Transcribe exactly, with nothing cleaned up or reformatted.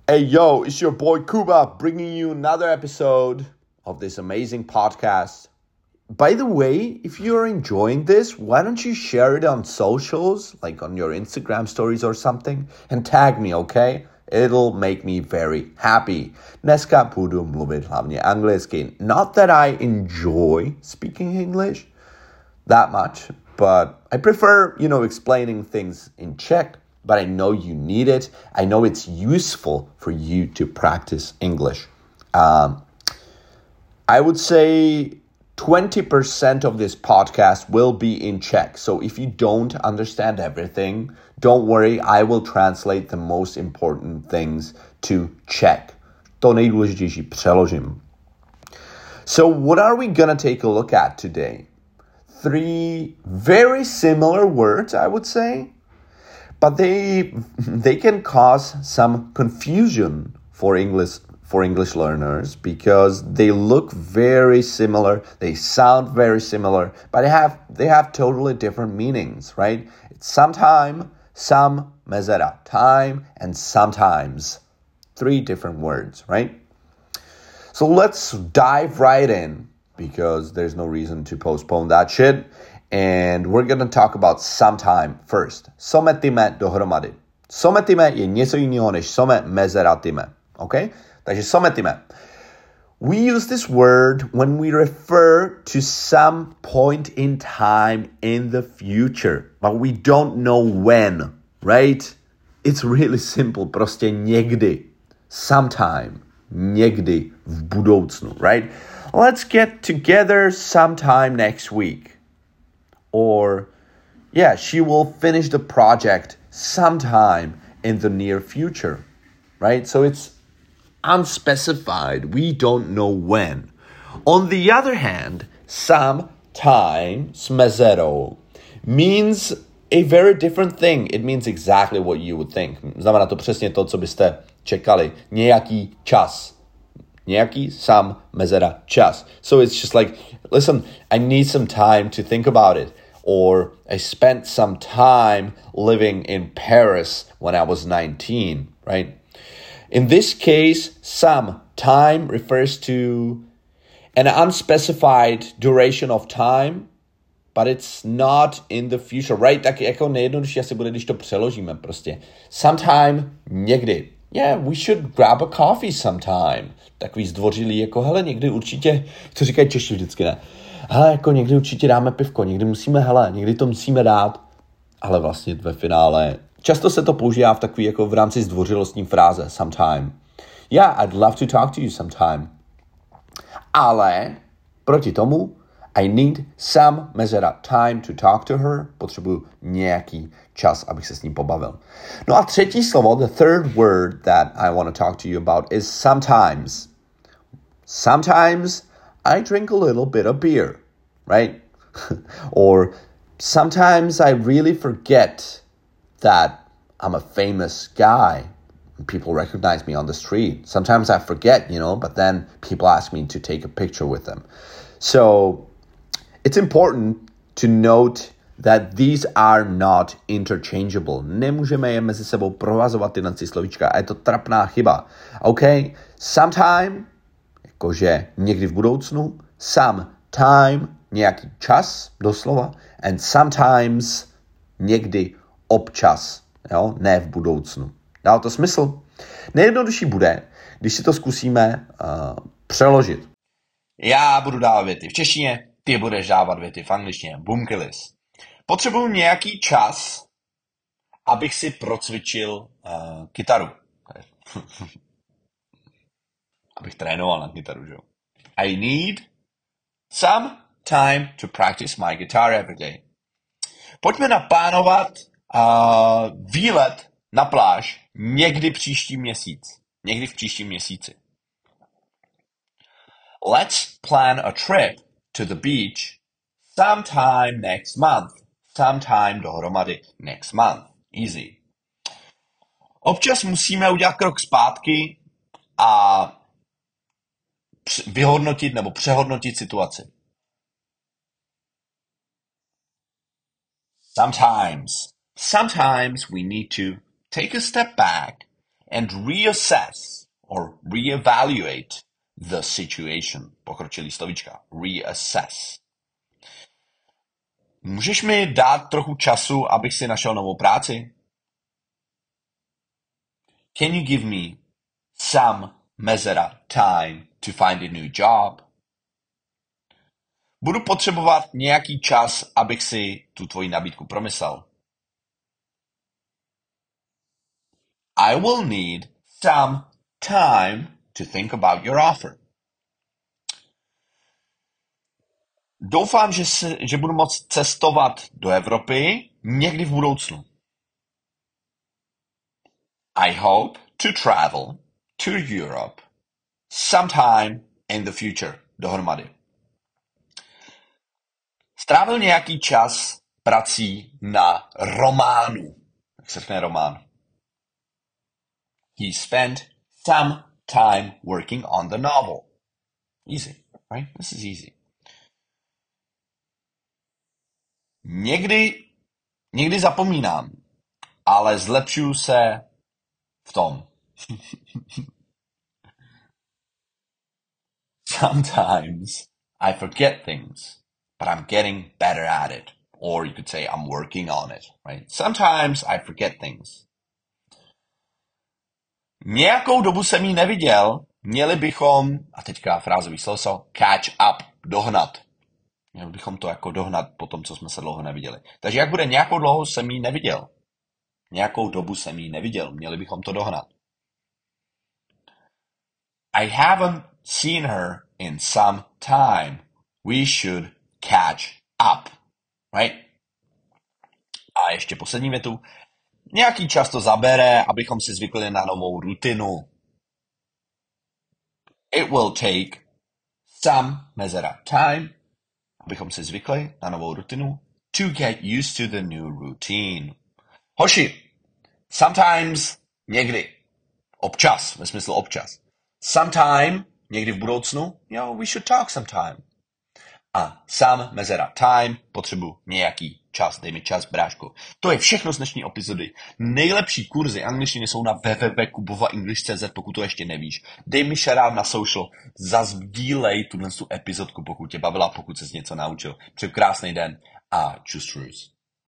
Hey, yo, it's your boy Kuba bringing you another episode of this amazing podcast. By the way, if you're enjoying this, why don't you share it on socials, like on your Instagram stories or something, and tag me, okay? It'll make me very happy. Dneska budu mluvit hlavně anglicky. Not that I enjoy speaking English that much, but I prefer, you know, explaining things in Czech. But I know you need it. I know it's useful for you to practice English. Um, I would say twenty percent of this podcast will be in Czech. So if you don't understand everything, don't worry. I will translate the most important things to Czech. To nejdůležitější přeložím. So what are we going to take a look at today? Three very similar words, I would say. But they they can cause some confusion for English for English learners because they look very similar, they sound very similar, but they have they have totally different meanings, right? It's sometime, some, mezera, time, and sometimes. Three different words, right? So let's dive right in because there's no reason to postpone that shit. And we're going to talk about sometime first. Sometime dohromady. Sometime je něco jiného než some mezeratime. Okay? Takže sometime. We use this word when we refer to some point in time in the future. But we don't know when. Right? It's really simple. Prostě někdy. Sometime. Někdy v budoucnu. Right? Let's get together sometime next week. Or, yeah, she will finish the project sometime in the near future, right? So it's unspecified. We don't know when. On the other hand, sometime, smezero, means a very different thing. It means exactly what you would think. Znamená to přesně to, co byste čekali. Nějaký čas. Nějaký, sam, mezera, čas. So it's just like, listen, I need some time to think about it. Or I spent some time living in Paris when I was nineteen, right? In this case, some time refers to an unspecified duration of time, but it's not in the future, right? Tak jako nejjednodušší asi bude, když to přeložíme prostě. Sometime, někdy. Yeah, we should grab a coffee sometime. Takový zdvořilý, jako hele, někdy určitě, to říkají Češi vždycky, ne? Hele, jako někdy určitě dáme pivko, někdy musíme, hele, někdy to musíme dát, ale vlastně ve finále, často se to používá v takový, jako v rámci zdvořilostní fráze, sometime. Yeah, I'd love to talk to you sometime. Ale proti tomu, I need some mezera time to talk to her, potřebuju nějaký čas, abych se s ním pobavil. No a třetí slovo, the third word that I want to talk to you about is sometimes. Sometimes I drink a little bit of beer, right? Or sometimes I really forget that I'm a famous guy. People recognize me on the street. Sometimes I forget, you know, but then people ask me to take a picture with them. So it's important to note that these are not interchangeable. Nemůžeme je mezi sebou provazovat tyhle slovíčka. A je to trapná chyba. Okay? Sometime, jakože někdy v budoucnu. Sometime, nějaký čas, doslova. And sometimes, někdy občas. Jo? Ne v budoucnu. Dá to smysl? Nejjednodušší bude, když si to zkusíme uh, přeložit. Já budu dávat věty v češtině, ty budeš dávat věty v angličtině. Bumkelis. Potřebuji nějaký čas, abych si procvičil uh, kytaru. Abych trénoval na kytaru, že jo. I need some time to practice my guitar every day. Pojďme naplánovat uh, výlet na pláž někdy příští měsíc. Někdy v příštím měsíci. Let's plan a trip to the beach sometime next month. Sometime dohromady next month. Easy. Občas musíme udělat krok zpátky a vyhodnotit nebo přehodnotit situaci. Sometimes. Sometimes we need to take a step back and reassess or reevaluate the situation. Pokročilý slovíčka. Reassess. Můžeš mi dát trochu času, abych si našel novou práci? Can you give me some mezera time to find a new job? Budu potřebovat nějaký čas, abych si tu tvoji nabídku promyslel. I will need some time to think about your offer. Doufám, že, si, že budu moct cestovat do Evropy někdy v budoucnu. I hope to travel to Europe sometime in the future. Dohromady. Strávil nějaký čas prací na románu. Jak se řekne román? He spent some time working on the novel. Easy, right? This is easy. Někdy, někdy zapomínám, ale zlepšuju se v tom. Sometimes I forget things, but I'm getting better at it. Or you could say I'm working on it, right? Sometimes I forget things. Nějakou dobu jsem ji neviděl, měli bychom, a teďka frázový slovo, catch up, dohnat. Měli bychom to jako dohnat po tom, co jsme se dlouho neviděli. Takže jak bude nějakou dlouho jsem ji neviděl? Nějakou dobu jsem ji neviděl, měli bychom to dohnat. I haven't seen her in some time. We should catch up, right? A ještě poslední větu. Nějaký čas to zabere, abychom si zvykli na novou rutinu. It will take some mezera time, abychom si zvykli na novou rutinu, to get used to the new routine. Hoši, sometimes, někdy, občas, ve smyslu občas. Sometime, někdy v budoucnu, yo, we should talk sometime. A some mezera time, potřebuji nějaký čas, dej mi čas, bráško. To je všechno z dnešní epizody. Nejlepší kurzy angličtiny jsou na w w w tečka kubova english tečka c z, pokud to ještě nevíš. Dej mi shoutout na social, zazdílej tuhle epizodku, pokud tě bavila, pokud ses něco naučil. Přeju krásný den a čus čus.